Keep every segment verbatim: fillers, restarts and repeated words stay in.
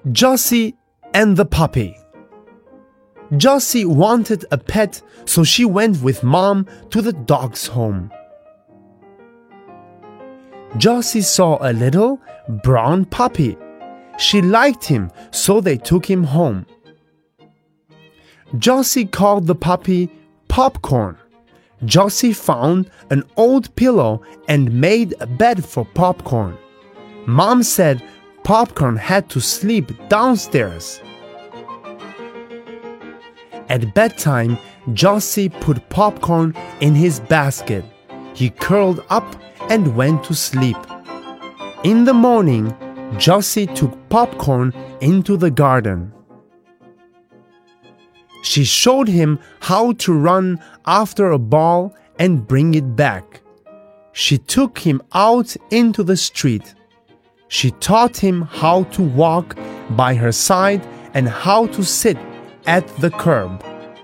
Jossie and the puppy. Jossie wanted a pet, so she went with Mom to the dog's home. Jossie saw a little brown puppy. She liked him, so they took him home. Jossie called the puppy Popcorn. Jossie found an old pillow and made a bed for Popcorn. Mom said Popcorn had to sleep downstairs. At bedtime, Jossie put Popcorn in his basket. He curled up and went to sleep. In the morning, Jossie took Popcorn into the garden. She showed him how to run after a ball and bring it back. She took him out into the street. She taught him how to walk by her side and how to sit at the curb.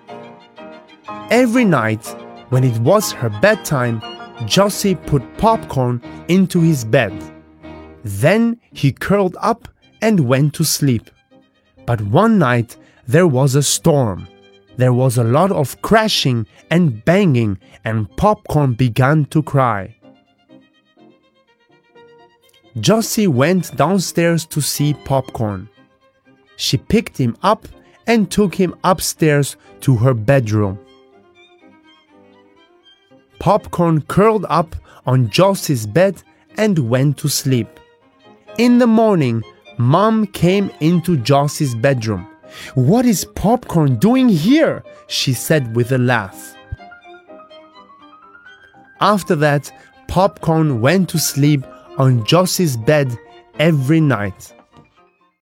Every night, when it was her bedtime, Jossie put Popcorn into his bed. Then he curled up and went to sleep. But one night there was a storm. There was a lot of crashing and banging, and Popcorn began to cry. Jossie went downstairs to see Popcorn. She picked him up and took him upstairs to her bedroom. Popcorn curled up on Jossie's bed and went to sleep. In the morning, Mom came into Jossie's bedroom. "What is Popcorn doing here?" she said with a laugh. After that, Popcorn went to sleep on Jossie's bed every night.